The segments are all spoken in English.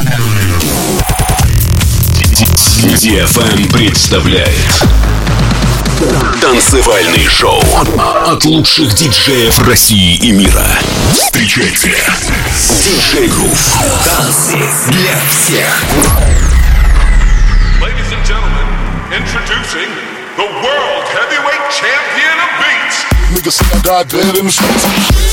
DFM представляет танцевальный шоу от лучших диджеев России и мира. Встречайте, диджей Грув. Танцы для всех. Ladies and gentlemen, introducing the world heavyweight champion of beats. Niggas say I died dead in the streets.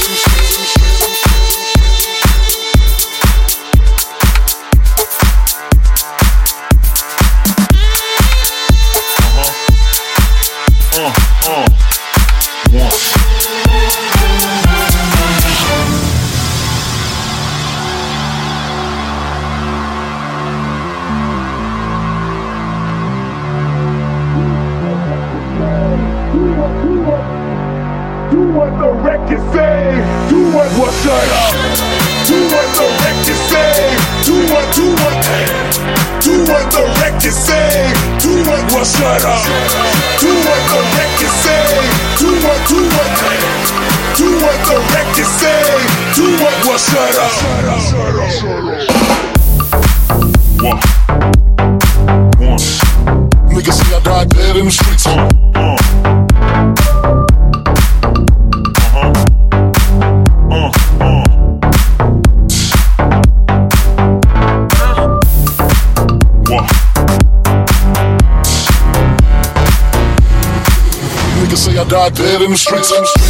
Shut up. Do what the record say. Do what the record say. Do what shut up. Do what the record say. Do what the record say. Do what shut up. One. Niggas say I died dead in the streets. Say I died dead in the streets.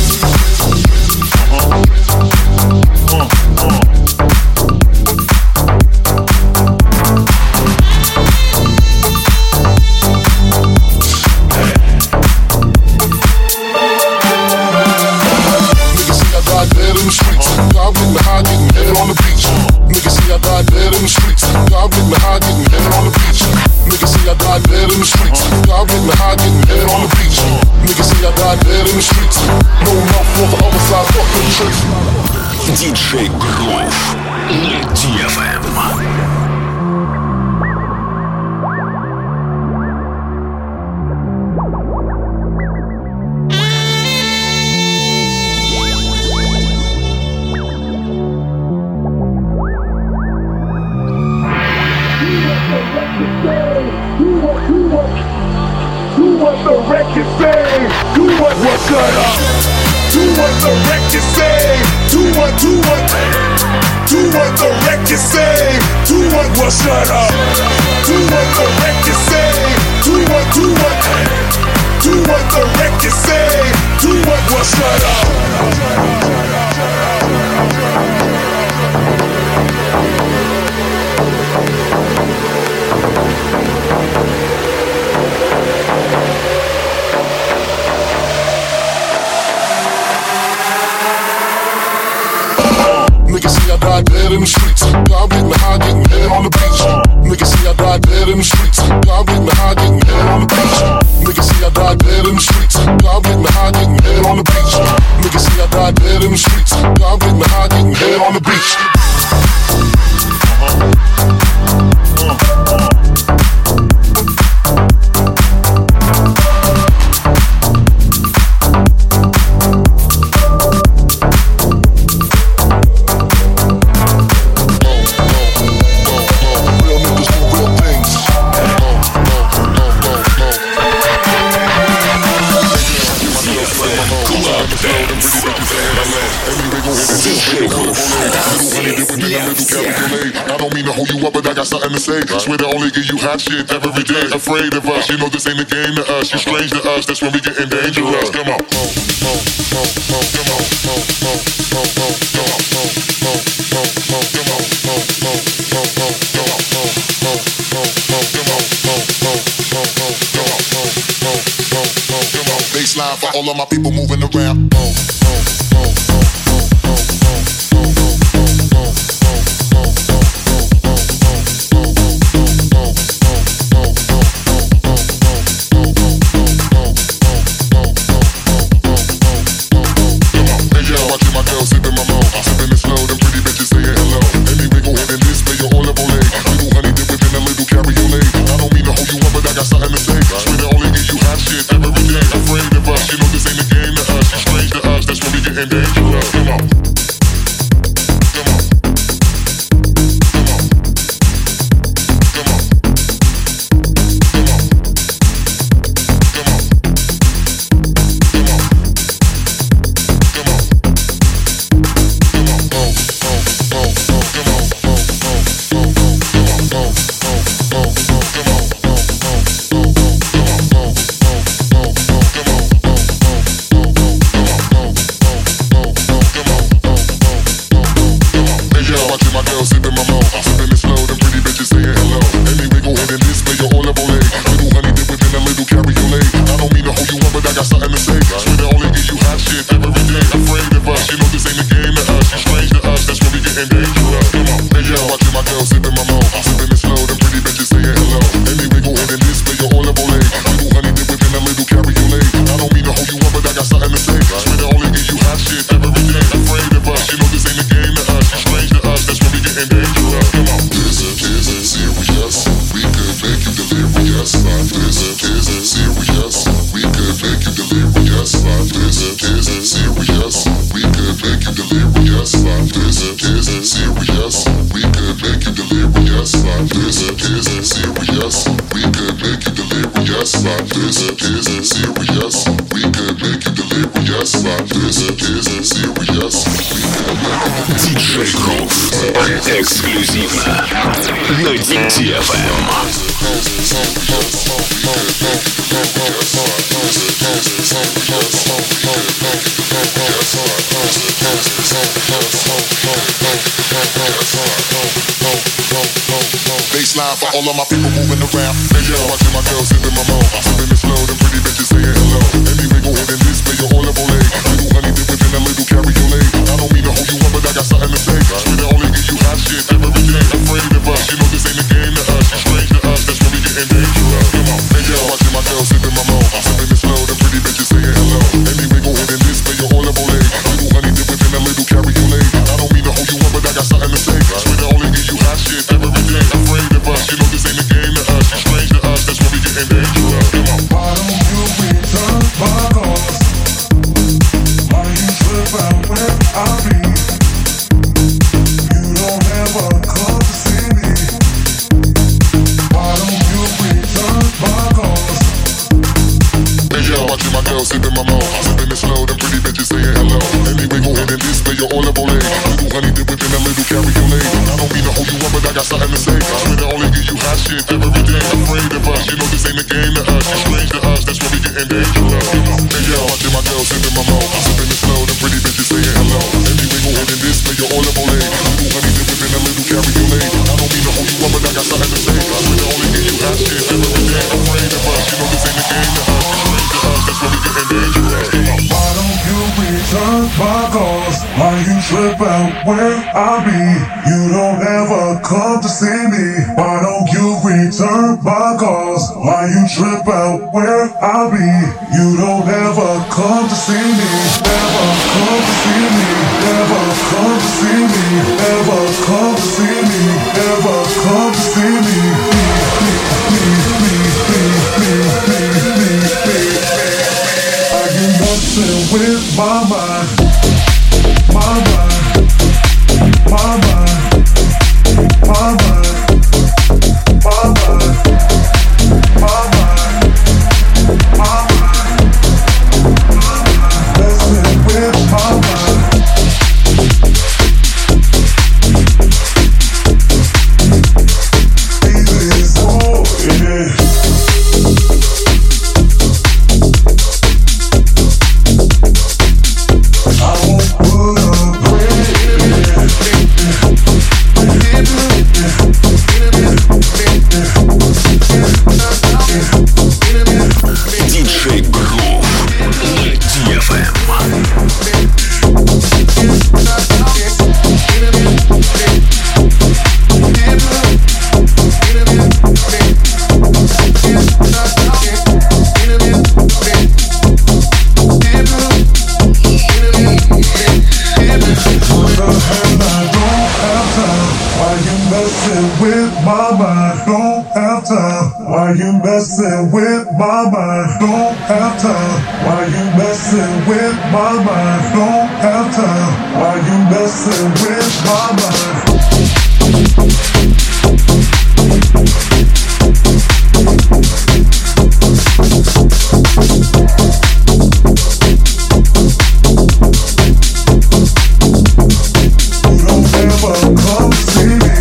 Диджей Грув на DFM. Do what the record say. Do what shut up. Do what the record say. Do what the record say. Do what shut up. Do what the record say. Do what the record say. Do what shut up. Niggas say I died dead in the streets. I'm getting high, getting head on the beach. Niggas say I died dead in the streets. I'm getting high, getting head on the beach. Niggas say I died dead in the streets. I'm getting high, getting head on the beach. Niggas say I died dead in the streets. I'm getting high, getting head on the beach. I don't mean to hold you up, but I got something to say. Swear to only give you hot shit every day. Afraid of us, you know this ain't a game to us. You're strange to us, that's when we getting dangerous. Come on. Baseline for all of my people moving around. Something to say. Swear to only give you hot shit every day. Afraid of us, you know this ain't a game to us. You're strange to us. this is serious. We could make you delirious. This is serious. We could make you delirious. This is serious. Диджей Грув. Эксклюзивно на DFM. Baseline for all of my people moving around. Hey yo, watching my girls sipping my mo, sipping it slow, them pretty bitches saying hello. Anyway, go ahead and display your all of Olay. Little honey dip within a little cabriolet. I don't mean to hold you up, but I got something to say. Swear to only give you hot shit every day. Afraid of us, you know this ain't a game to us. You're strange to us, that's where we getting dangerous. Come on, hey yo, watching my girls sipping my mo, sipping it slow, them pretty bitches saying hello. Anyway, go ahead and display your all of Olay. Little honey dip within a little cabriolet. I don't mean to hold you up, but I got something to say. Swear to only give you hot shit every day. Afraid of us, you know this ain't a game to us. You're strange to us, that's where we getting dangerous. Come on. Why don't you return my calls? Why you trip out when I be? You don't ever come to see me. Why don't you return my calls? Hey yo, watching my girls sipping my mo, sipping it slow, them pretty bitches saying hello. Anyway, go ahead and display your all of Olay. Little honey dip within a little cabriolet. I don't mean to hold you up, but I got something to say. Swear to only give you hot shit every day. Afraid of us, you know this ain't a game to us. You're strange to us, that's where we getting dangerous. Hey yo, watching my girls sipping my mo, sipping it slow, them pretty bitches saying hello. Anyway, go ahead and display your all of Olay. Little honey dip within a little cabriolet. I don't mean to hold you up, but I got something to say. Swear to only give you hot shit every day. Afraid of us, you know this ain't a game to us. You're strange to us, that's where we getting dangerous. Why don't you return my calls? Why you trip out when I be? You don't ever come to see me. Why don't you return my calls? Why you trip out when I be? You don't ever come to see me. Never come to see me. Never come to see me. Never come to see me. Never come to see me. Messing with my mind, my mind, my mind, my mind, my mind, my mind, my mind, messing with my mind. Easy as all, yeah. Диджей Грув на DFM. Why you messing with my mind? Don't have time. Why you messing with my mind? Don't have time. Why you messing with my mind? You don't ever come see me.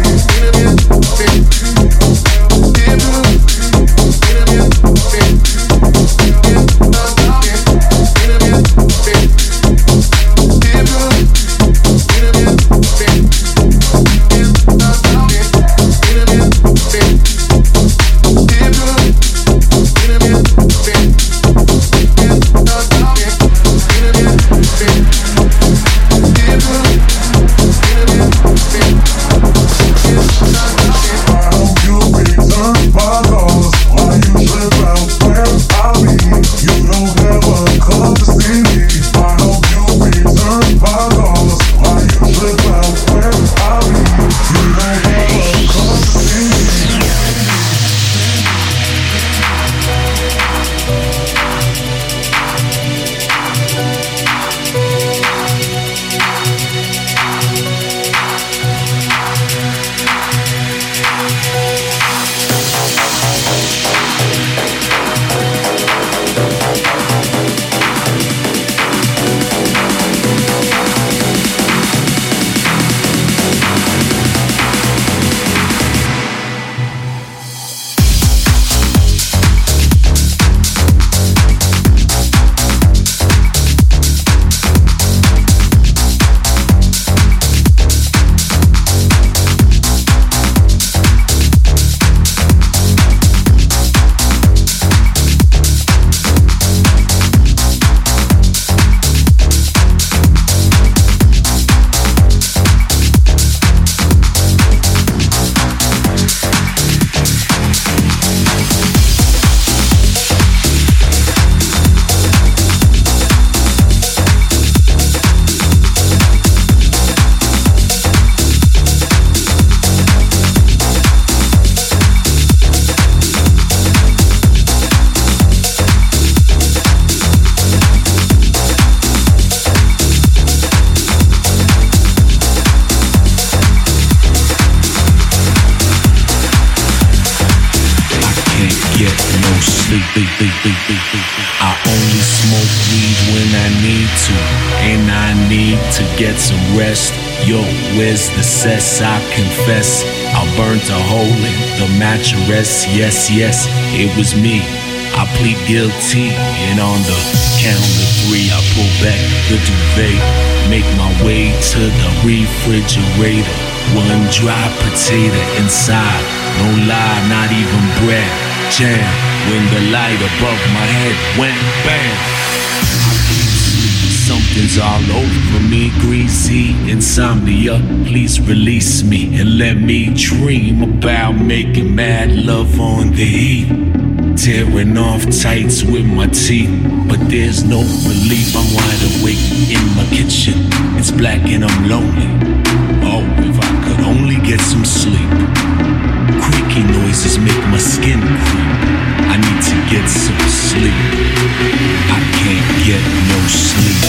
I only smoke weed when I need to, and I need to get some rest. Yo, where's the cess? I confess, I burnt a hole in the mattress. Yes, yes, it was me. I plead guilty, and on the count of 3, I pull back the duvet, make my way to the refrigerator. One dry potato inside, no lie, not even bread. Jam, when the light above my head went bam. Something's all over me, greasy insomnia. Please release me and let me dream about making mad love on the heat. Tearing off tights with my teeth, but there's no relief. I'm wide awake in my kitchen. It's black and I'm lonely. Oh, if I could only get some sleep. Creaky noises make my skin creep. I need to get some sleep. I can't get no sleep.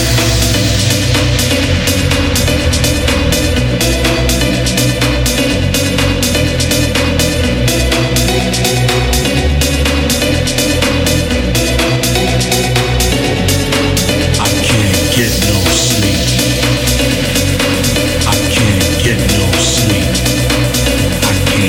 I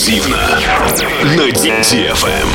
эксклюзивно на DFM.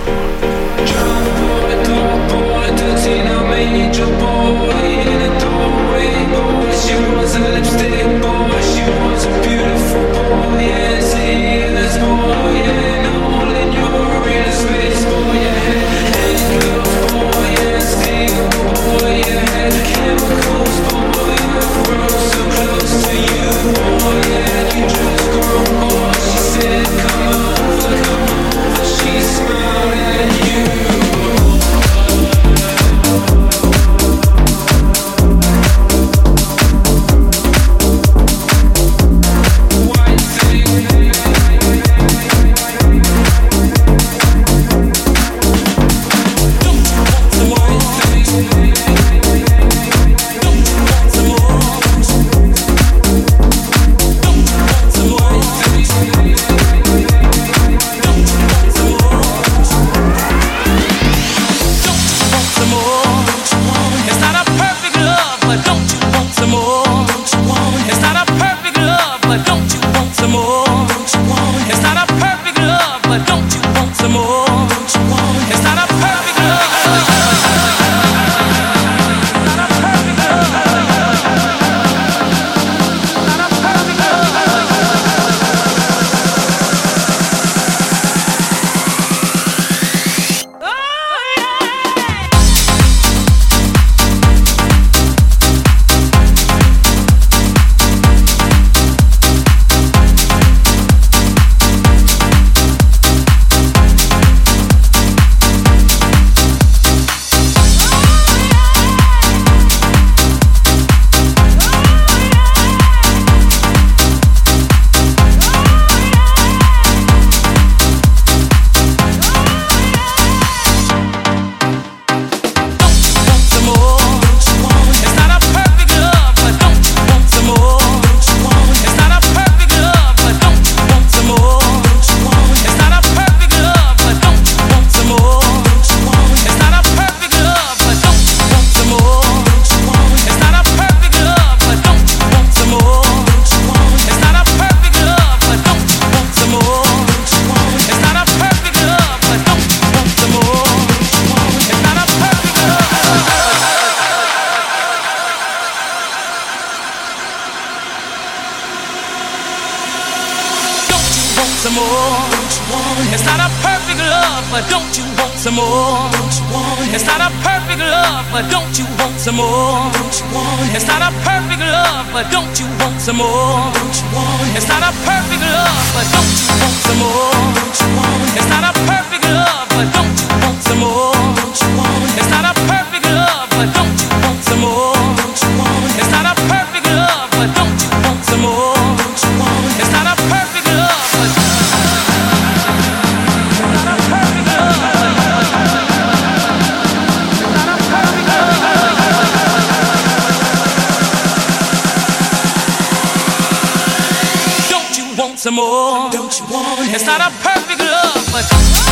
Some more. Don't you want it? It's not a perfect love, but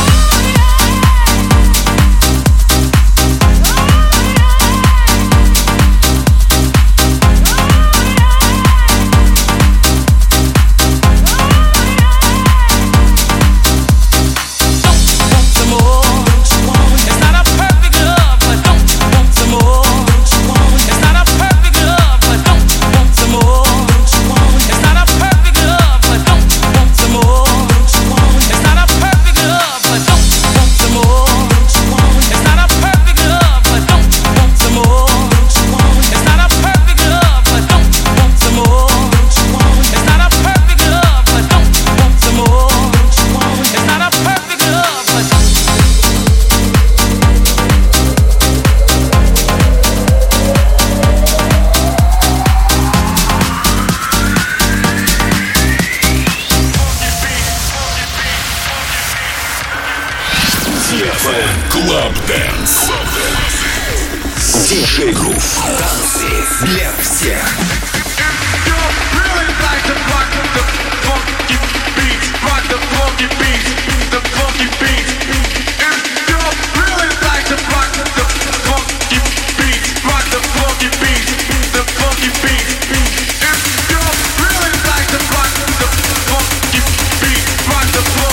Club Dance. DJ Groove. Танцы для всех. Rock the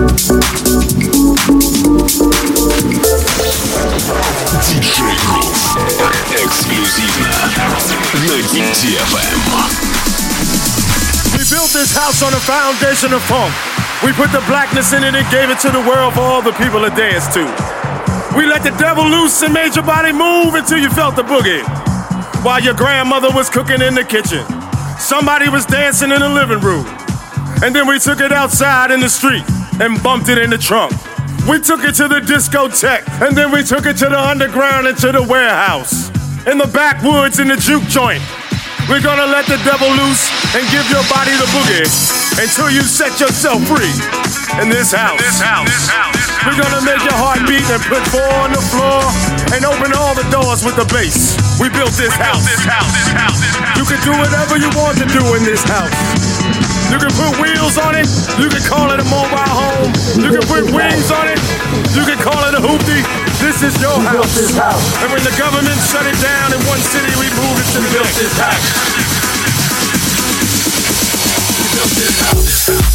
Диджей Грув. Эксклюзивно на DFM. We built this house on a foundation of funk. We put the blackness in it and gave it to the world for all the people to dance to. We let the devil loose and made your body move until you felt the boogie. While your grandmother was cooking in the kitchen, somebody was dancing in the living room. And then we took it outside in the street and bumped it in the trunk. We took it to the discotheque, and then we took it to the underground and to the warehouse. In the backwoods in the juke joint. We're gonna let the devil loose and give your body the boogie until you set yourself free in this house. We're gonna make your heart beat and put four on the floor and open all the doors with the bass. We built this house. You can do whatever you want to do in this house. You can put wheels on it. You can call it a mobile home. You can put wings on it. You can call it a hoopty. This is your house. And when the government shut it down in one city, we moved it to the next. We built this house.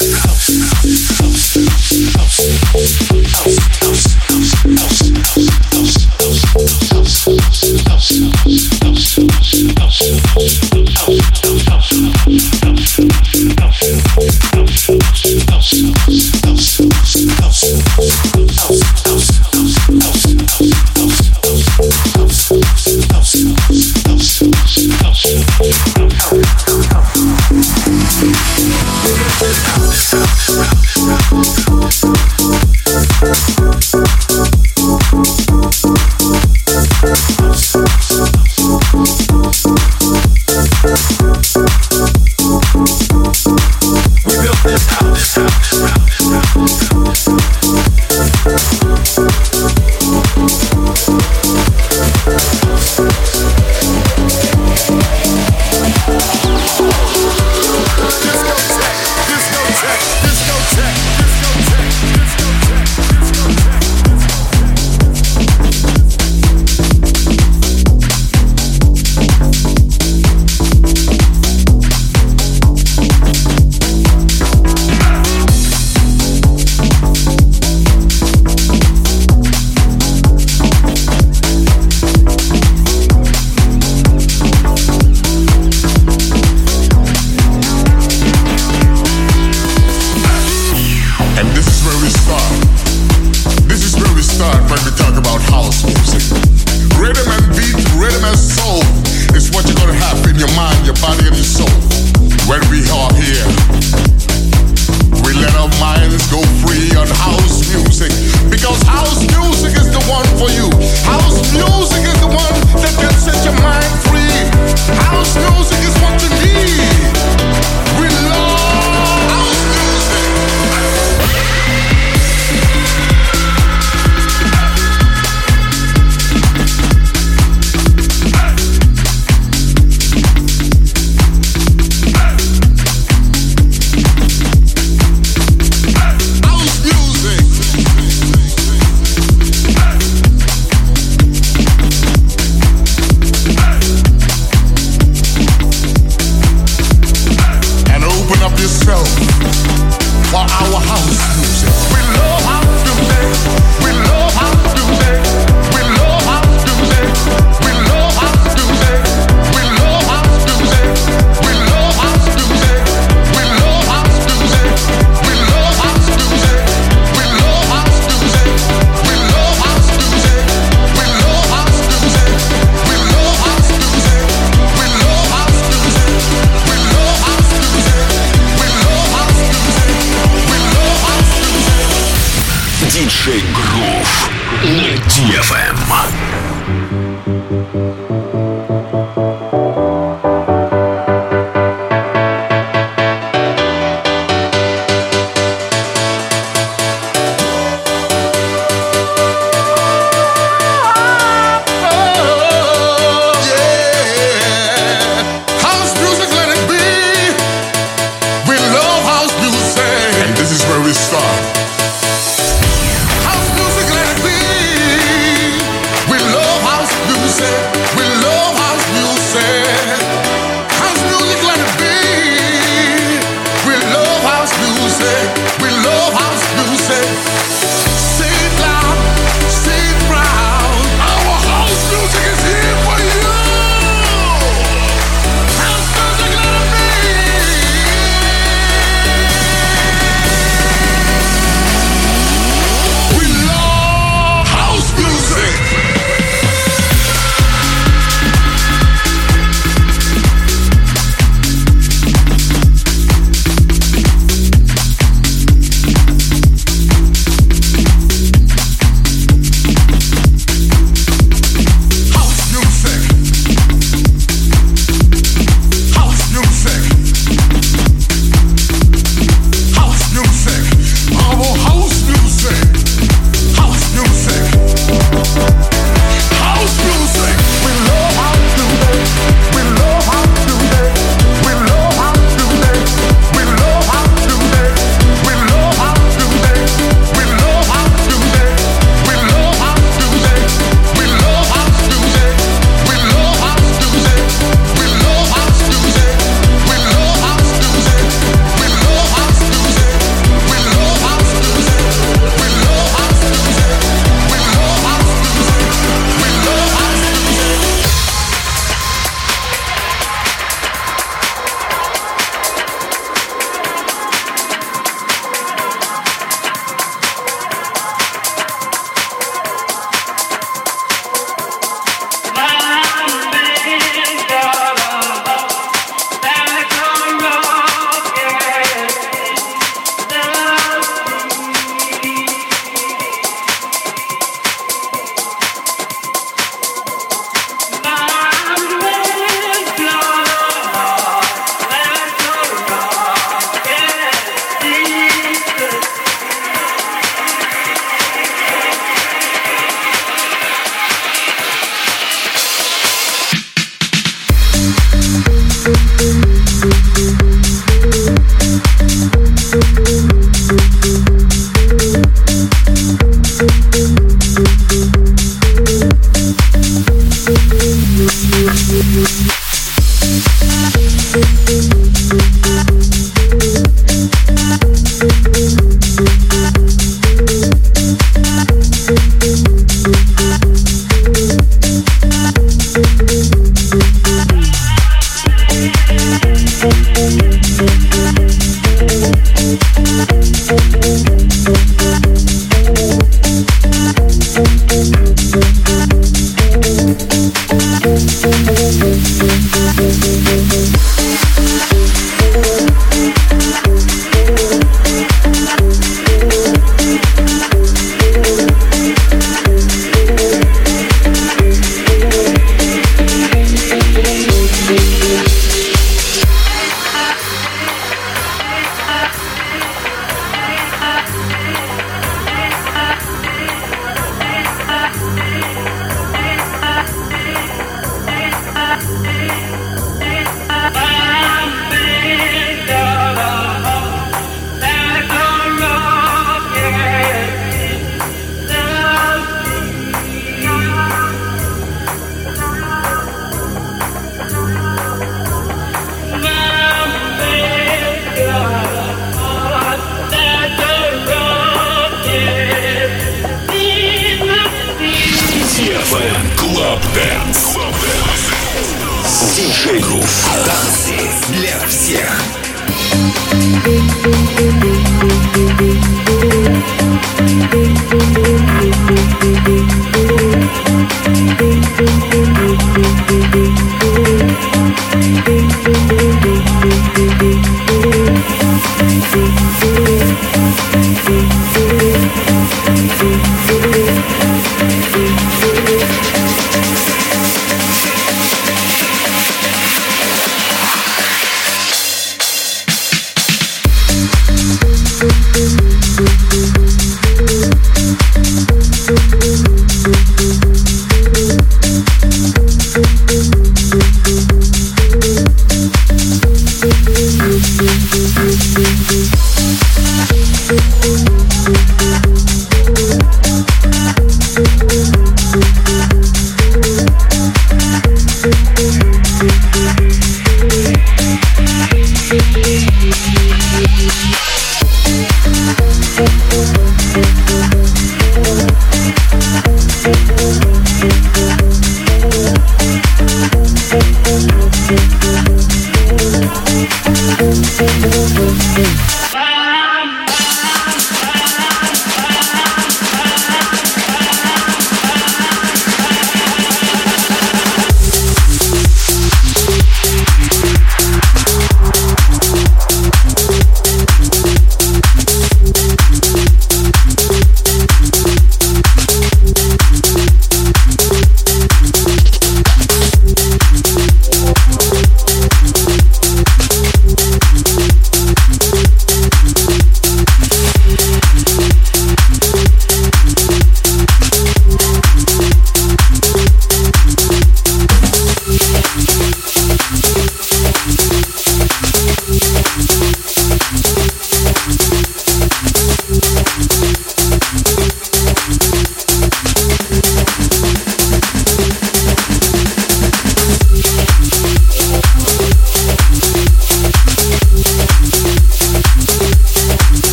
Диджей Грув на DFM. House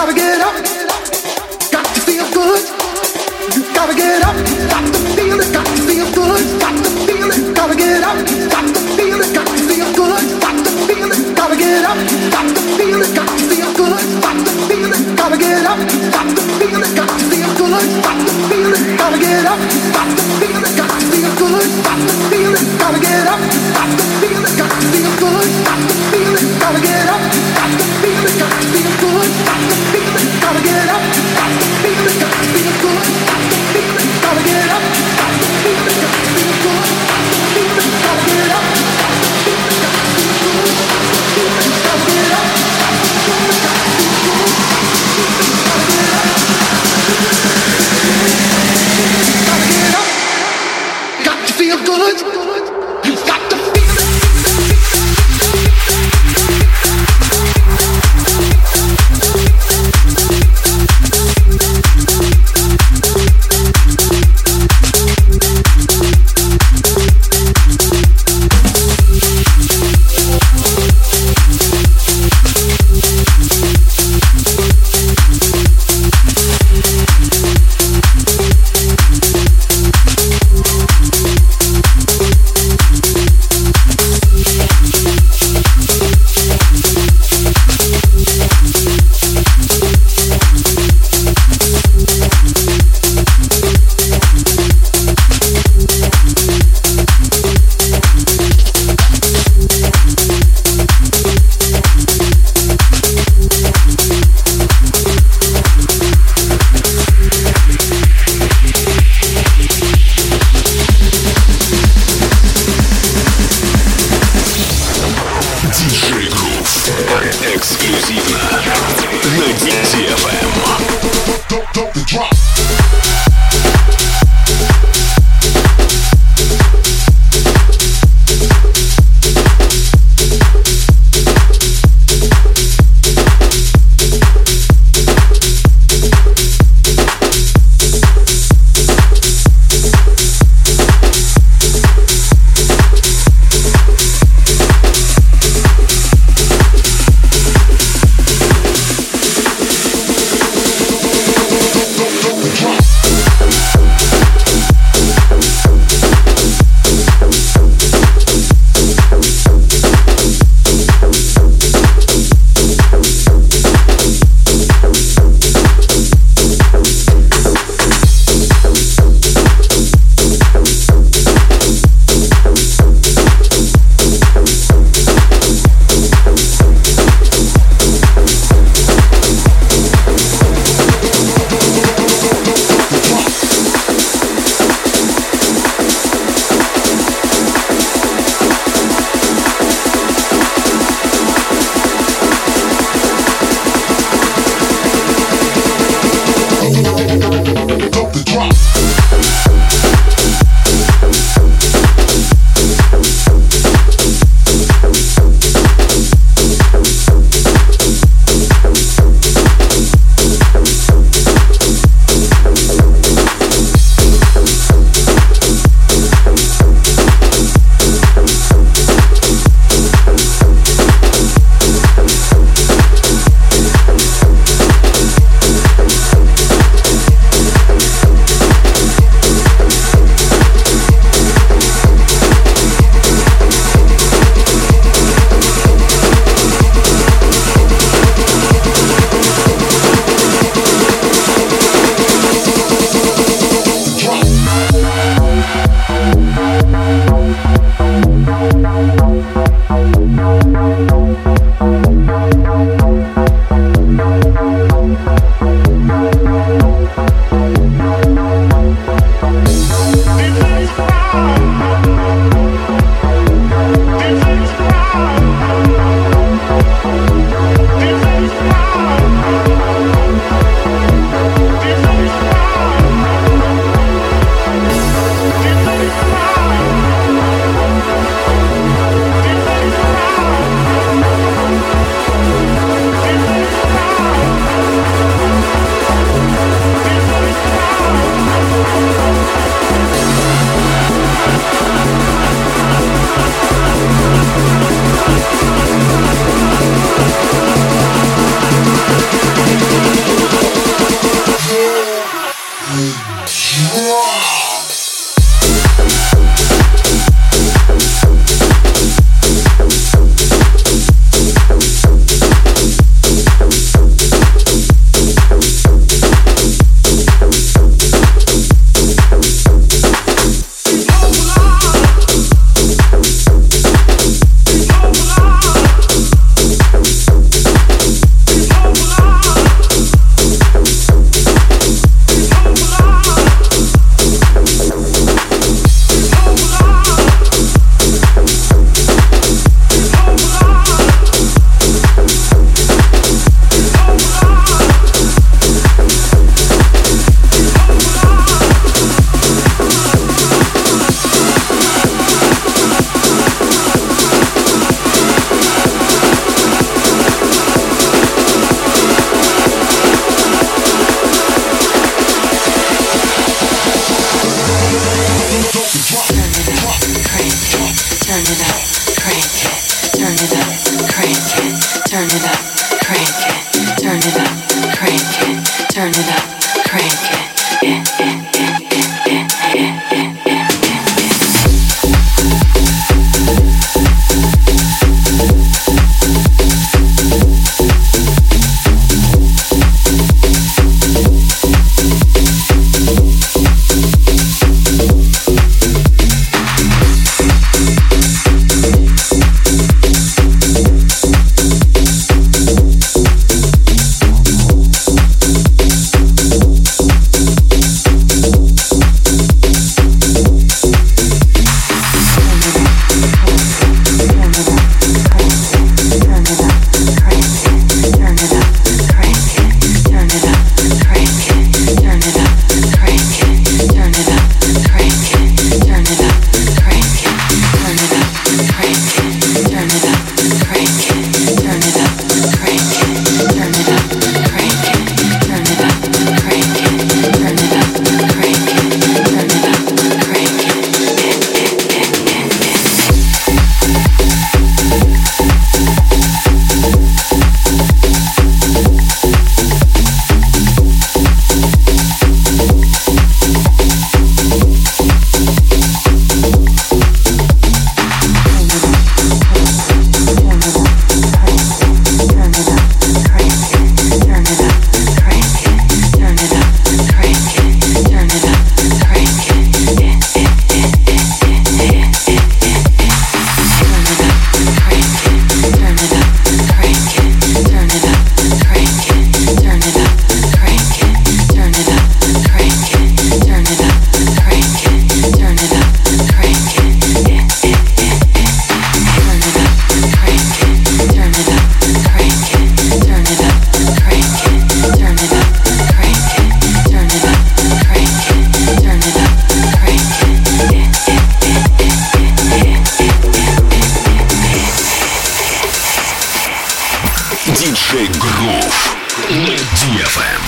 gotta get up, got to feel good. You gotta get up, got to feel it, got to feel good, got to feel it, gotta get up, got to feel it, got to feel good, got to feel it, gotta get up, got to feel it, got to feel good, got to feel it, gotta get up, got to feel it, got to feel good, got to feel it, gotta get up, got to feel it, got to feel good, got to feel it, gotta get up, got to feel it, got to feel good, got to feel it, gotta get up, got to feel it, got to feel good, got to feel it, gotta get up, got to feel it, got to feel good, got to feel it, gotta get up, got to feel it, got to feel good, got to feel it, gotta get up, got to feel it, got to feel good, got to feel it, gotta get up, got to feel it, got to feel good, got to feel it, gotta get up, gotta get up, got to feel good. You've got to feel it. Диджей Грув на DFM.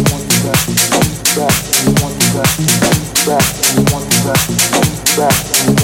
Back.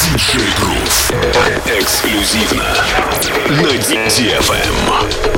Диджей Грув. Эксклюзивно на DFM.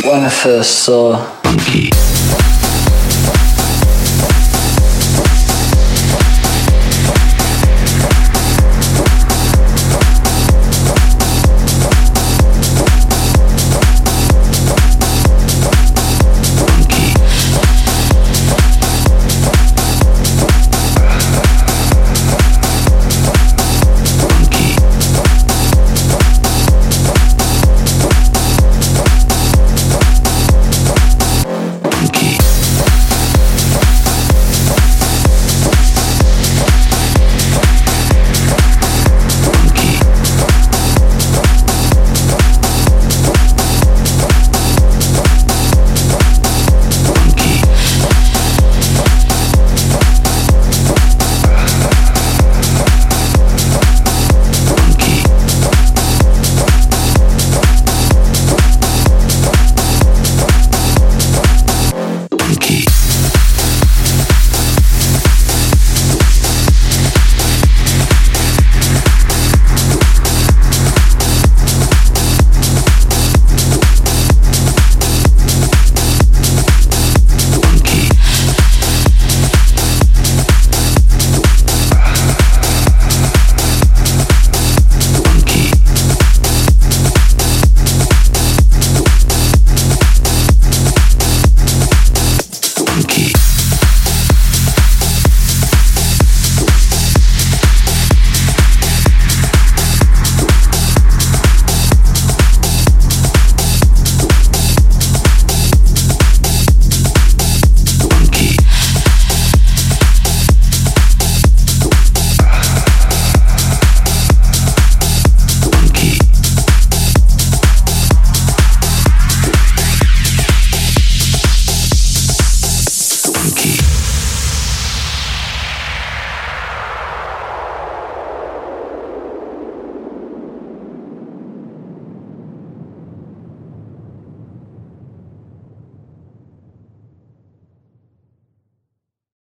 When I first saw Monkey